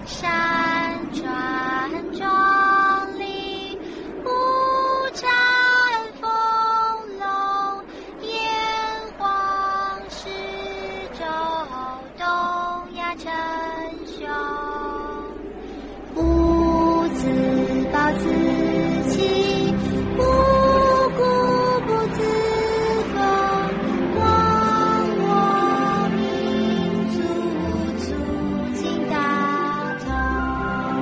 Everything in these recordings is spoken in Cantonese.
山川很壮丽，五展丰隆，炎黄始周，东亚称雄。不自暴自弃，不固不自封，忘我民族，促进大同。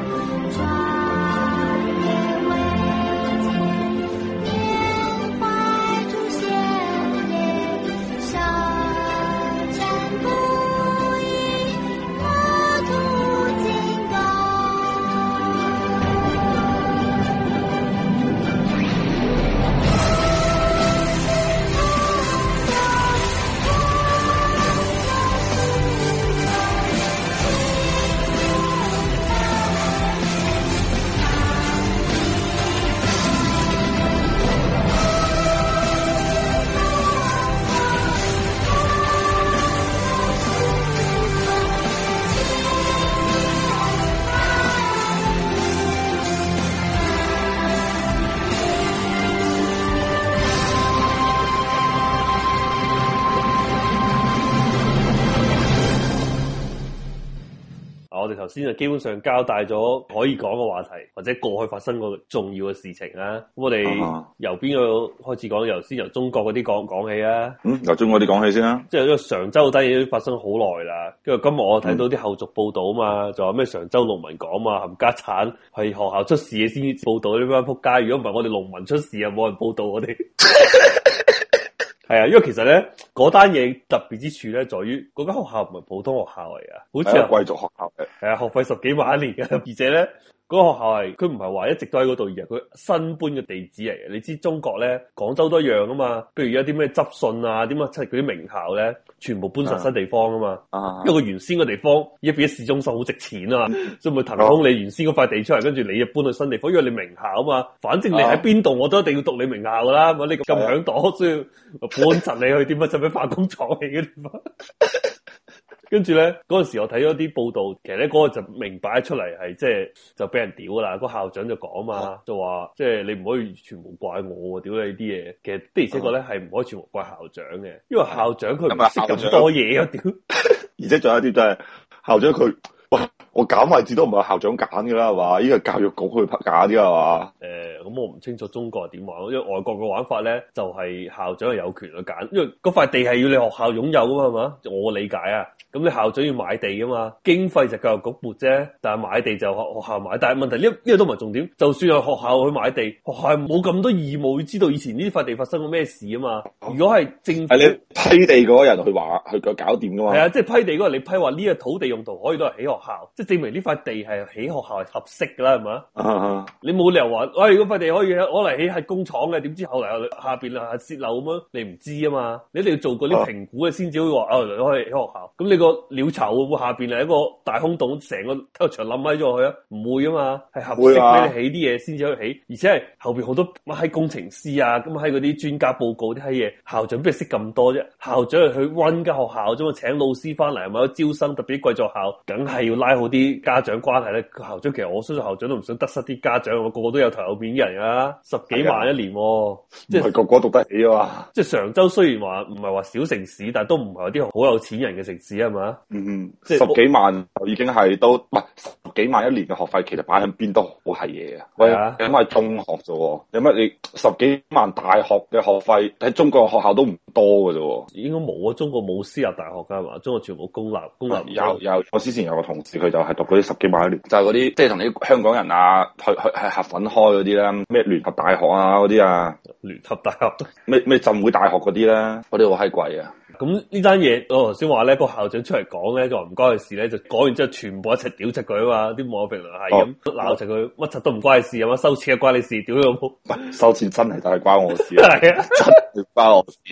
壮烈伟健，缅怀祖先烈，舌战不已，国土进攻。 我哋頭先就基本上交代咗可以講嘅話題，或者過去發生過重要嘅事情啊。咁我哋由邊個開始講？先由中國嗰啲講起啊。 由中國啲講起先啦。 即係呢個常州嗰單嘢都發生好耐啦。跟住今日我睇到啲後續報道啊嘛，就話咩常州農民講嘛，冚家產係學校出事嘅先報道呢班仆街。如果唔係我哋農民出事啊，冇人報道我哋。係啊，因為其實咧嗰單嘢特別之處咧，在於嗰間學校唔係普通學校嚟噶，好似係貴族學校嘅。 係啊，學費10幾萬一年嘅，而且咧嗰個學校係佢唔係話一直都喺嗰度，而係佢新搬嘅地址嚟嘅。你知中國咧，廣州都一樣啊嘛。譬如有啲咩執信啊，點啊，即係嗰啲名校咧，全部搬上新地方啊嘛。因為佢原先個地方一變咗市中心，好值錢啊嘛，所以咪騰空你原先嗰塊地出嚟，跟住你就搬去新地方，因為你名校啊嘛。反正你喺邊度，我都一定要讀你名校噶啦。咁你咁響朵，所以搬柒你去點啊？就俾化工廠起嘅地方。跟住咧，嗰陣時我睇咗啲報道，其實咧嗰個就明擺出嚟係即係就俾人屌啦。個校長就講嘛，就話即係你唔可以全部怪我，屌你啲嘢。其實的而且確咧係唔可以全部怪校長嘅，因為校長佢唔識咁多嘢啊，屌！ 而且仲有一啲就係校長佢，喂，我揀位置都唔係校長揀噶啦，係嘛？依個教育局去揀啲係嘛？ 咁我唔清楚中國係點玩，因為外國嘅玩法咧就係校長係有權去揀，因為嗰塊地係要你學校擁有噶嘛，係嘛？我理解啊。咁你校長要買地噶嘛，經費就教育局撥啫，但係買地就學校買。但係問題呢個都唔係重點，就算係學校去買地，學校係冇咁多義務要知道以前呢塊地發生過咩事啊嘛。如果係政府， 係你批地嗰個人去話去搞掂噶嘛？ 係啊，即係批地嗰個你批話呢個土地用途可以都係起學校，即係證明呢塊地係起學校係合適噶啦，係嘛？你冇理由話，喂，嗰塊地可以攞嚟起係工廠嘅，點知後嚟下邊係泄漏咁樣，你唔知啊嘛？你一定要做過啲評估嘅先至可以話，你可以起學校。咁你個鳥巢會唔會下邊係一個大空洞，成個體育場冧喺咗去啊？唔會啊嘛，係合適俾你起啲嘢先至可以起，而且係後邊好多乜閪工程師啊，咁喺嗰啲專家報告啲閪嘢，校長邊識咁多啫？校長係去溫間學校啫嘛，請老師翻嚟係咪？招生特別貴族學校，梗係要拉好啲家長關係咧。校長其實我相信校長都唔想得失啲家長，我個個都有頭有面嘅人啊，10幾萬一年，即係個個讀得起啊嘛。 即係常州雖然話唔係話小城市，但係都唔係啲好有錢人嘅城市係嘛？ 即係10幾萬就已經係都唔係10幾萬一年嘅學費，其實擺喺邊都好係嘢啊！喂，咁係中學啫，有乜你10幾萬大學嘅學費喺中國學校都唔多嘅啫。 應該冇啊，中國冇私立大學噶係嘛？中國全部公立。 有，我之前有個同事佢就係讀嗰啲10幾萬一年，就係嗰啲即係同啲香港人啊去係合粉開嗰啲啦，咩聯合大學啊嗰啲啊， 聯合大學咩浸會大學嗰啲咧，嗰啲好閪貴啊！ 咁呢單嘢，我頭先話咧，個校長出嚟講咧，就話唔關佢事咧，就講完之後全部一齊屌柒佢啊嘛！啲網友評論係咁鬧柒佢，乜柒都唔關你事啊嘛，收錢啊關你事，屌你老母！ 收錢真係就係關我事啊，係啊，真係關我事。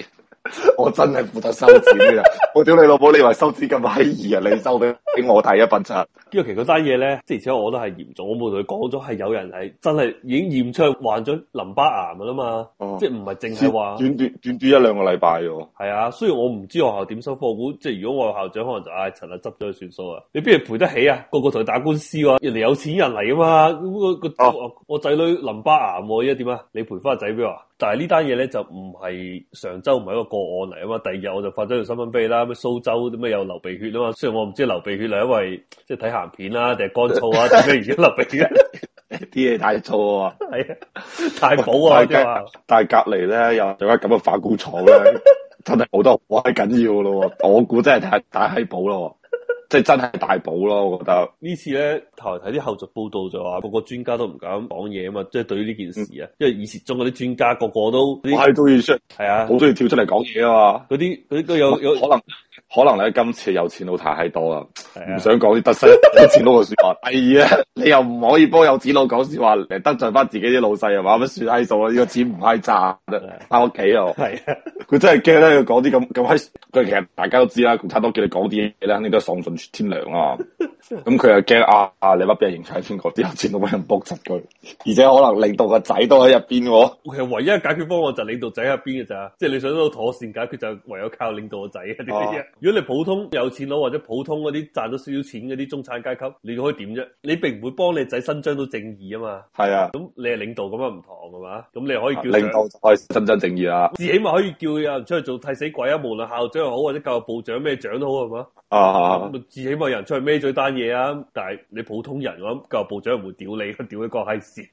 我真係負責收錢嘅，我屌你老母，你以為收錢咁閪易啊？你收俾我睇一筆咋？ 因為其實嗰單嘢咧，即係而且我覺得係嚴重，我冇同佢講咗係有人係真係已經驗出患咗淋巴癌噶啦嘛，即係唔係淨係話短一兩個禮拜喎。 係啊，雖然我唔知學校點收科，我估即係如果我係校長，可能就陳啊執咗佢算數啊，你邊度賠得起啊？個個同佢打官司喎，人哋有錢人嚟啊嘛，咁我仔女淋巴癌，而家點啊？你賠翻個仔俾我？但係呢單嘢咧就唔係上周唔係一個個案嚟啊嘛，第二日我就發咗條新聞俾你啦，咩蘇州啲咩又流鼻血啊嘛，雖然我唔知流鼻血係因為即係睇鹹片啦，定係乾燥啊，定咩而家流鼻血？ 啲嘢太粗啊！ 係啊，太補啊！ 但係隔籬咧有間咁嘅化工廠咧，真係補得好閪緊要咯。我估真係太閪補咯。即係真係大補咯，我覺得呢次咧，頭嚟睇啲後續報道就話，個個專家都唔敢講嘢啊嘛，即係對於呢件事啊，因為以前中嗰啲專家個個都係都要出，係啊， 好中意跳出嚟講嘢啊嘛， 嗰啲都有可能咧今次有錢佬太多啦，唔想講啲得失有錢佬嘅說話。第二啊，你又唔可以幫有錢佬講說話嚟得罪翻自己啲老細啊嘛，乜算閪數啊？呢個錢唔閪賺，翻屋企啊！係啊，佢真係驚咧，佢講啲咁閪，佢其實大家都知啦，共產黨叫你講啲嘢咧，肯定都係喪盡天良啊！咁佢又驚你乜俾人認出係邊個？啲有錢佬俾人卜柒佢，而且可能領導個仔都喺入邊喎。 其實唯一解決方案就係領導仔喺入邊嘅咋，即係你想到妥善解決就唯有靠領導個仔啊！如果你普通有錢佬或者普通嗰啲賺咗少少錢嗰啲中產階級，你可以點啫？你並唔會幫你仔伸張到正義啊嘛。係啊，咁你係領導咁樣唔同係嘛？咁你可以叫領導就可以伸張正義啦。 至起碼可以叫有人出去做替死鬼啊！無論校長又好或者教育部長咩長都好係嘛？咁至起碼有人出去孭咗單嘢啊！但係你普通人我諗教育部長唔會屌你，屌你個閪事。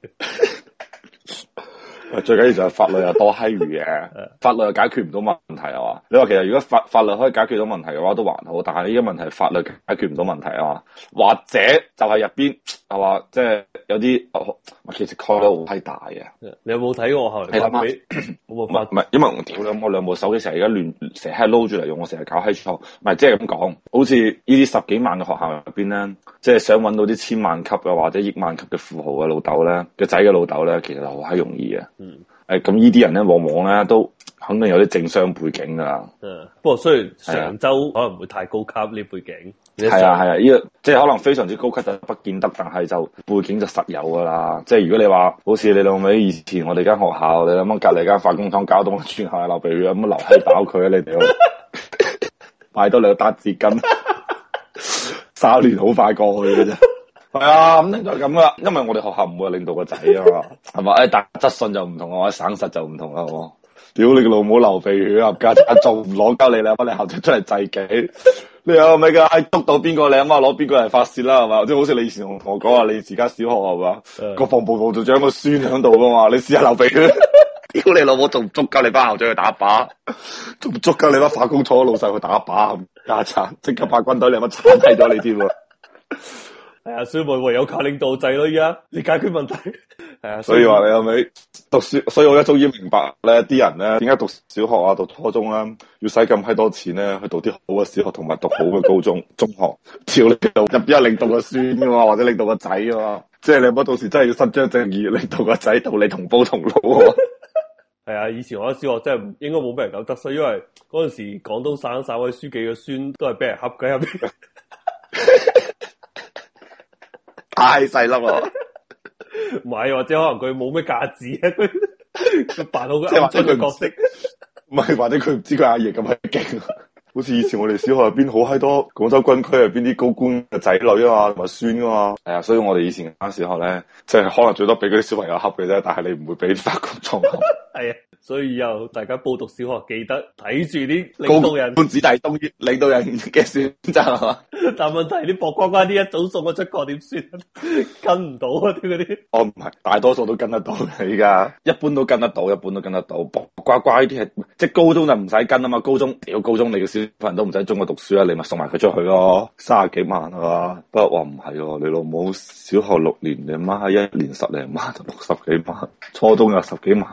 最緊要就係法律又多閪餘嘅，法律又解決唔到問題啊嘛！你話其實如果法律可以解決到問題嘅話都還好，但係呢個問題法律解決唔到問題啊嘛，或者就係入邊係話即係有啲其實概率好閪大嘅。 你有冇睇過後嚟發俾？我冇發， 唔係因為我屌我兩部手機成日而家亂成日撈住嚟用，我成日搞閪錯，唔係即係咁講，好似呢啲10幾萬嘅學校入邊咧，即係想揾到啲千萬級嘅或者億萬級嘅富豪嘅老豆咧嘅仔嘅老豆咧，其實好閪容易嘅。咁呢啲人咧，往往咧都肯定有啲政商背景噶啦。 不過雖然常州可能唔會太高級呢背景。 係啊，呢個即係可能非常之高級就不見得，但係就背景就實有噶啦。即係如果你話好似你兩位以前我哋間學校，你諗下隔籬間化工廠搞到全校流鼻血咁流閪飽佢啊！你哋買多2打紙巾，3年好快過去嘅啫。係啊，肯定就係咁啦。因為我哋學校唔會領導個仔啊嘛，係嘛？但質信就唔同啊，省實就唔同啦，係嘛？屌你個老母流鼻血啊！家陣仲唔攞鳩你啦，幫你校長出嚟祭旗。你有咪噶？督到邊個你阿媽攞邊個嚟發泄啦，係嘛？即係好似你以前同我講話，你自家小學係嘛？國防部部長個孫喺度噶嘛？你試下流鼻血，屌你老母仲唔捉鳩你班校長去打靶，仲唔捉鳩你班化工廠老細去打靶？家陣即刻派軍隊你阿媽鏟低咗你添喎！ 係啊，所以唯有靠領導制咯，而家你解決問題。係啊， 所以話你有冇讀書？所以我而家終於明白咧，啲人咧點解讀小學啊、讀初中咧要使咁閪多錢咧去讀啲好嘅小學，同埋讀好嘅高中、中學。照你度入邊有領導個孫噶嘛，或者領導個仔噶嘛，即係你乜到時真係要伸張正義，領導個仔同你同煲同爐。 係啊，以前我喺小學真係應該冇俾人搞得衰，因為嗰陣時廣東省省委書記嘅孫都係俾人恰嘅入邊。 太細粒咯， 唔係，或者可能佢冇咩價值啊，佢扮好個暗中嘅角色， 唔係，或者佢唔知佢阿爺咁閪勁，好似以前我哋小學入邊好閪多廣州軍區入邊啲高官嘅仔女啊嘛，同埋孫啊嘛，係啊，所以我哋以前間小學咧，即係可能最多俾嗰啲小朋友恰嘅啫，但係你唔會俾啲化工廠恰。係啊， 所以以後大家報讀小學記得睇住啲領導人， 官子弟東於領導人嘅選擇係嘛？ 但問題啲薄瓜瓜啲一早送我出國點算？跟唔到啊啲嗰啲。 哦，唔係，大多數都跟得到嘅，依家一般都跟得到，一般都跟得到。薄瓜瓜呢啲係即係高中就唔使跟啊嘛，高中你嘅小朋友都唔使中國讀書啊，你咪送埋佢出去咯，30幾萬係嘛？不過話唔係喎，你老母小學6年，你媽1年10零萬就60幾萬，初中又10幾萬一年，哇！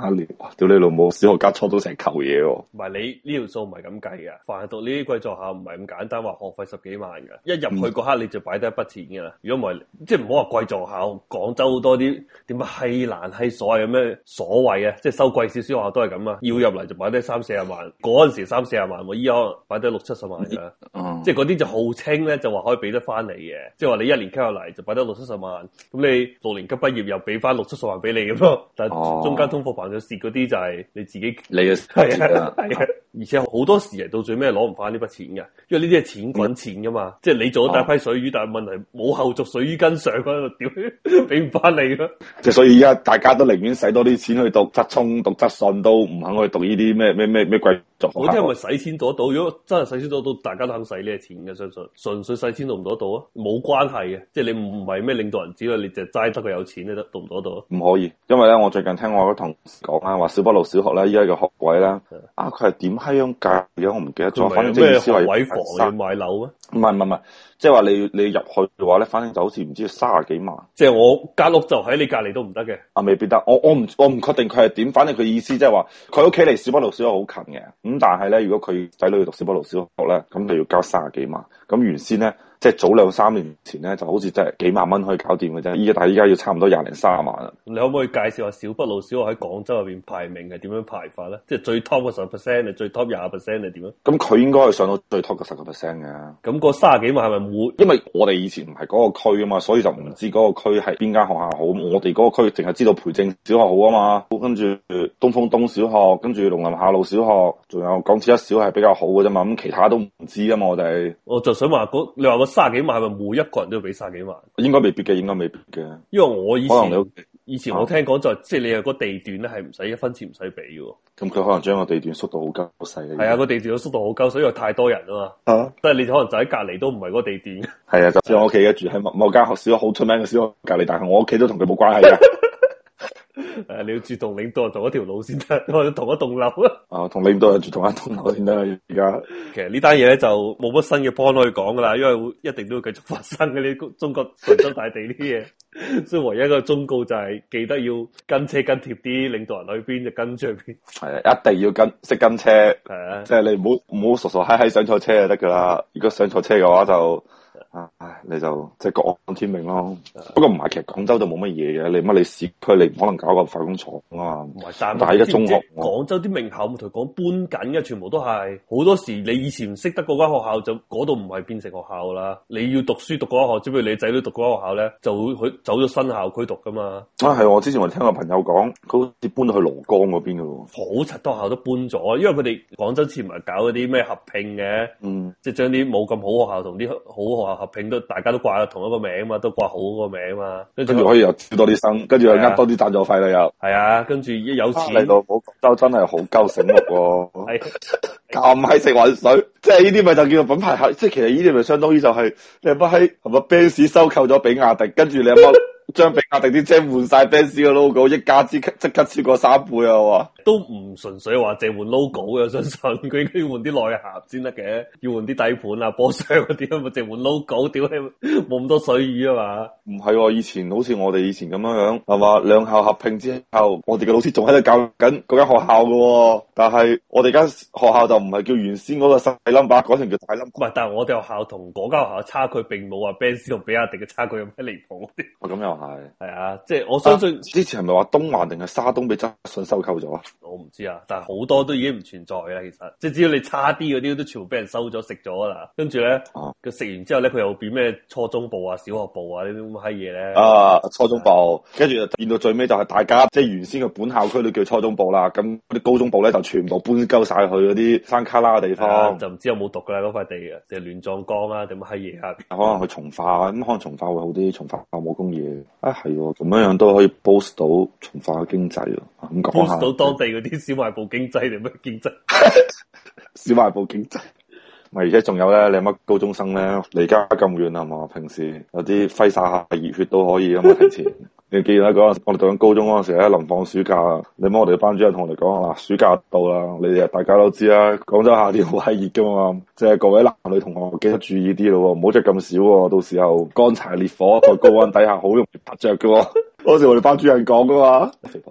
屌你老母，小學加初中成嚿嘢喎。 唔係你呢條數唔係咁計嘅，凡係讀呢啲貴族學校唔係咁簡單，話學費10幾萬嘅，一入去嗰刻你就擺低一筆錢噶啦。如果唔係，即係唔好話貴族學校，廣州好多啲點解閪難閪所謂嘅咩所謂啊，即係收貴少少學校都係咁啊，要入嚟就擺低30-40萬，嗰陣時30-40萬，我依家可能擺低60-70萬噶，即係嗰啲就號稱咧就話可以俾得翻你嘅，即係話你1年級入嚟就擺低60-70萬，咁你6年級畢業又俾翻60-70萬俾你咁咯，但係中間通貨膨脹蝕嗰啲就係你自己你嘅係啊， 而且好多時係到最尾攞唔翻呢筆錢嘅，因為呢啲係錢滾錢噶嘛，即係你做咗第一批水魚，但係問題冇後續水魚跟上嗰度，屌俾唔翻你咯。 即係所以而家大家都寧願使多啲錢去讀職聰、讀職信，都唔肯去讀呢啲咩貴族學校。 嗰啲係咪使錢攞到？如果真係使錢攞到，大家都肯使呢啲錢嘅，相信純粹使錢攞唔攞到啊？冇關係嘅，即係你唔係咩領導人子女，你就齋得佢有錢你得，攞唔攞到啊？唔可以，因為咧，我最近聽我嗰同事講啊，話小北路小學咧，依家嘅學位咧，佢係點閪樣計嘅？我唔記得咗。反正即係思維位房要買樓咩？ 唔係，即係話你入去嘅話咧，反正就好似唔知30幾萬。 即係我間屋就喺你隔籬都唔得嘅。 未必得。我唔確定佢係點，反正佢意思即係話佢屋企離小北路小學好近嘅。咁但係咧，如果佢仔女要讀小北路小學咧，咁就要交30幾萬。咁原先咧，即係早2-3年前咧，就好似真係幾萬蚊可以搞掂嘅啫。但係依家要差唔多20-30萬啦。 你可唔可以介紹下小北路小學喺廣州入邊排名係點樣排法咧？即係最 top 嘅10%定最 top 20%係點樣？ 咁佢應該係上到最 top 嘅10%嘅。 咁個30幾萬係咪每？ 因為我哋以前唔係嗰個區啊嘛，所以就唔知嗰個區係邊間學校好。我哋嗰個區淨係知道培正小學好啊嘛，跟住東風東小學，跟住農林下路小學，仲有港鐵一小係比較好嘅啫嘛。咁其他都唔知啊嘛，我哋。我就想話你話個30幾萬係咪每一個人都要俾30幾萬？ 應該未必嘅，應該未必嘅。 因為我以前我聽講就即係你有個地段咧係唔使1分錢唔使俾嘅。 咁佢可能將個地段縮到好鳩細。 係啊，個地段都縮到好鳩，所以話太多人啊嘛。即係你可能就喺隔籬都唔係嗰個地段。係啊，就似我屋企嘅住喺某間學校好出名嘅小學隔籬，但係我屋企都同佢冇關係嘅。 你要住同領導人同一條路先得，或者同一棟樓啊。 同領導人住同一棟樓先得。而家其實呢單嘢咧就冇乜新嘅 point 可以講噶啦，因為一定都會繼續發生嘅呢中國神州大地呢啲嘢。所以唯一一個忠告就係記得要跟車跟貼啲，領導人去邊就跟住去邊。 係啊，一定要識跟車。係啊，即係你唔好傻傻閪閪上錯車就得噶啦。如果上錯車嘅話就。你就即係各安天命咯。不過唔係，其實廣州就冇乜嘢嘅。你市區你唔可能搞個化工廠啊嘛。唔係，但係而家中學廣州啲名校，我同佢講搬緊嘅，全部都係好多時你以前唔識得嗰間學校，就嗰度唔係變成學校啦。你要讀書讀嗰間學校，只不過你仔女讀嗰間學校咧，就會去走咗新校區讀噶嘛。 係我之前我聽個朋友講，佢好似搬到去蘿崗嗰邊噶咯。 好柒多校都搬咗，因為佢哋廣州之前唔係搞嗰啲咩合併嘅，即係將啲冇咁好學校同啲好學校合併，都大家都掛同一個名嘛，都掛好嗰個名嘛，跟住可以又招多啲生，跟住又呃多啲贊助費啦又。 係啊，跟住一有錢嚟到廣州真係好鳩醒目喎。係咁閪食渾水，即係呢啲咪就叫做品牌客，即係其實呢啲咪相當於就係你阿媽喺係咪 Benz 收購咗比亞迪，跟住你阿媽將比亞迪啲車換晒 Benz 嘅 logo，一家之即刻超過3倍啊！我話都唔純粹話淨換 logo 嘅，相信佢應該要換啲內涵先得嘅，要換啲底盤啊、波箱嗰啲啊，咪淨換 logo，屌你冇咁多水魚啊嘛！ 唔係，以前好似我哋以前咁樣係嘛，兩校合併之後，我哋嘅老師仲喺度教緊嗰間學校嘅，但係我哋間學校就唔係叫原先嗰個細 number，改成叫大 number。唔係， 但係我哋學校同嗰間學校差距並冇話 Benz 同比亞迪嘅差距有咩離譜啲。 咁又係啊，即係我相信之前係咪話東環定係沙東俾執信收購咗啊？ 我唔知啊，但係好多都已經唔存在啦。其實即係只要你差啲嗰啲都全部俾人收咗食咗啦。跟住咧，佢食完之後咧，佢又變咩初中部啊、小學部啊呢啲咁嘅閪嘢咧。 初中部，跟住變到最尾就係大家即係原先嘅本校區都叫初中部啦。咁嗰啲高中部咧就全部搬鳩晒去嗰啲山卡拉嘅地方。 就唔知有冇讀噶啦嗰塊地啊，定係亂葬崗啊，定乜閪嘢啊？ 可能去從化，咁可能從化會好啲，從化冇工業。係喎，咁樣都可以 boost 到從化嘅經濟咯。咁講下 boost 到當地嗰啲小賣部經濟定乜經濟？ 小賣部經濟。咪而且仲有咧，你乜高中生咧離家咁遠係嘛？平時有啲揮灑下熱血都可以啊嘛，提前。你記得嗰陣我哋讀緊高中嗰陣時咧，臨放暑假，你乜我哋班主任同我哋講啊，暑假到啦，你哋大家都知啦，廣州夏天好閪熱噶嘛，即係各位男女同學記得注意啲咯，唔好着咁少，到時候乾柴烈火在高溫底下好容易拍着噶。嗰時我哋班主任講噶嘛，肥婆真係好閪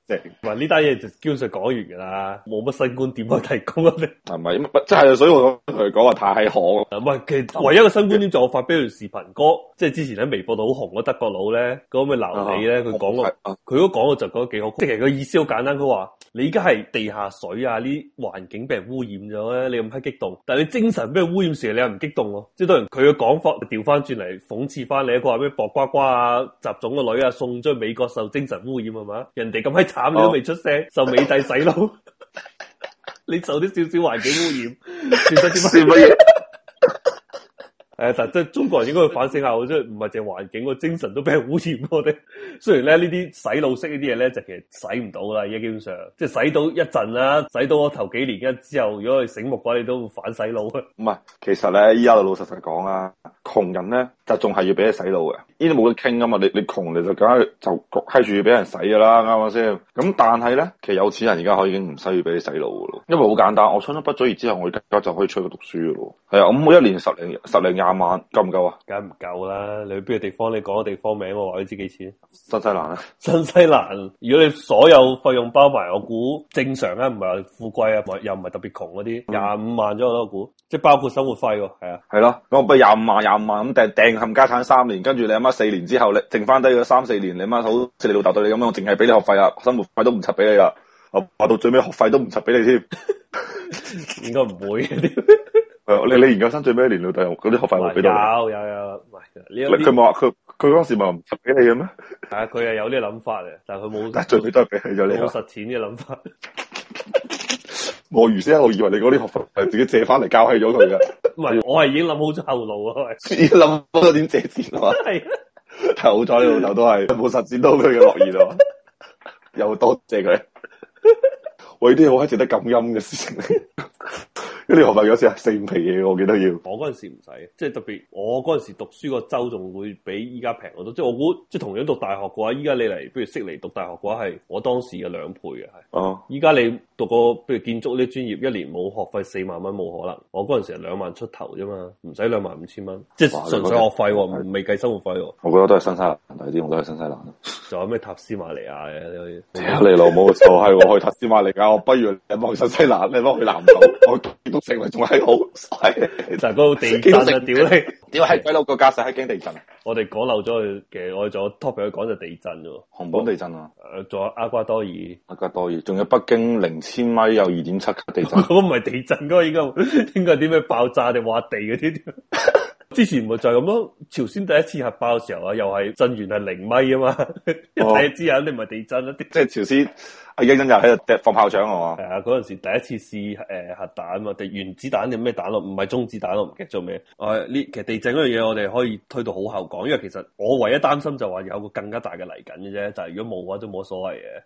正。 唔係呢單嘢就基本上講完噶啦，冇乜新觀點可以提供啊！你係咪？即係所以我同佢講話太可。 唔係，其實唯一嘅新觀點就我發俾條視頻哥，即係之前喺微博度好紅嗰德國佬咧，嗰個咩鬧你咧，佢講過，佢都講過就講得幾好。即係其實個意思好簡單，佢話你而家係地下水啊，呢環境俾人污染咗咧，你咁閪激動，但係你精神俾人污染時，你又唔激動喎。即係當然佢嘅講法調翻轉嚟諷刺翻你，佢話咩薄瓜瓜啊、習總個女啊送咗去美國受精神污染係嘛？人哋咁閪慘你都未出聲，受美帝洗腦，你受啲少少環境污染，算得啲乜嘢？但即係中國人應該去反省下，即係唔係淨係環境，個精神都俾人污染我哋。雖然咧呢啲洗腦式呢啲嘢咧，就其實洗唔到啦，而家基本上即係洗到一陣啦，洗到我頭幾年跟之後，如果你醒目嘅話，你都會反洗腦啊。 唔係，其實咧依家就老實實講啦，窮人咧就仲係要俾你洗腦嘅，呢啲冇得傾啊嘛。你窮你就梗係就焗閪住要俾人洗噶啦，啱唔啱先？咁但係咧，其實有錢人而家可以已經唔需要俾你洗腦噶咯，因為好簡單，我初中畢咗業之後，我而家就可以出去讀書噶咯。係啊，咁我一年十零廿萬夠唔夠啊？ 梗係唔夠啦！你去邊個地方？你講個地方名，我話你知幾錢？ 新西蘭啊！ 新西蘭，如果你所有費用包埋，我估正常啊，唔係話富貴啊，又唔係特別窮嗰啲，25萬左右我估，即係包括生活費喎，係啊。 係咯，咁我不如25萬咁掟冚家產3年，跟住你阿媽4年之後，你剩翻低嗰3、4年，你阿媽好似你老豆對你咁樣，我淨係俾你學費啊，生活費都唔柒俾你啦，我話到最尾學費都唔柒俾你添， 應該唔會嘅。 你研究生最尾一年老豆嗰啲學費會俾到？有， 唔係佢冇話佢嗰時咪唔柒俾你嘅咩？ 係啊，佢係有呢個諗法嘅，但係佢冇。 但係最尾都係俾咗你。 冇實踐嘅諗法。 我原先一路以為你嗰啲學費係自己借翻嚟交起咗佢嘅。 唔係，我係已經諗好咗後路啊！ 已經諗好咗點借錢啊嘛。係，係好彩你老豆都係冇實踐到佢嘅諾言啊！又多謝佢。喂，啲好閪值得感恩嘅事情嚟。嗰啲學費有時係4、5皮嘢，我記得要。 我嗰陣時唔使，即係特別我嗰陣時讀書個州仲會比依家平好多。即係我估，即係同樣讀大學嘅話，依家你嚟，不如悉尼讀大學嘅話，係我當時嘅2倍嘅係。哦。依家你讀個譬如建築呢啲專業，一年冇學費4萬蚊冇可能。我嗰陣時係2萬出頭啫嘛，唔使25000蚊，即係純粹學費喎，未計生活費喎。我覺得都係新西蘭抵啲，我都係新西蘭。仲有咩塔斯馬尼亞嘅？你可以。 屌你老母，就係我去塔斯馬尼亞，我不如你幫去新西蘭，你幫去南島，我都成為仲係好係。 就係嗰個地震啊！屌你， 屌係鬼佬個架勢係驚地震。 我哋講漏咗佢嘅，我哋仲有 topic 去講就地震啫。 熊本地震啊！ 仲有厄瓜多爾， 仲有北京0千米有2.7級地震。 嗰個唔係地震，嗰個應該係啲咩爆炸定挖地嗰啲。之前咪就係咁咯，朝鮮第一次核爆嘅時候啊，又係震源係0米啊嘛，一睇就知肯定唔係地震啦。即係朝鮮阿英又喺度放炮仗啊嘛。 係啊，嗰陣時第一次試核彈啊嘛，定原子彈定咩彈咯？唔係中子彈咯，唔記得咗咩？其實地震嗰樣嘢我哋可以推到好後講，因為其實我唯一擔心就話有個更加大嘅嚟緊嘅啫，就係如果冇嘅話都冇所謂嘅。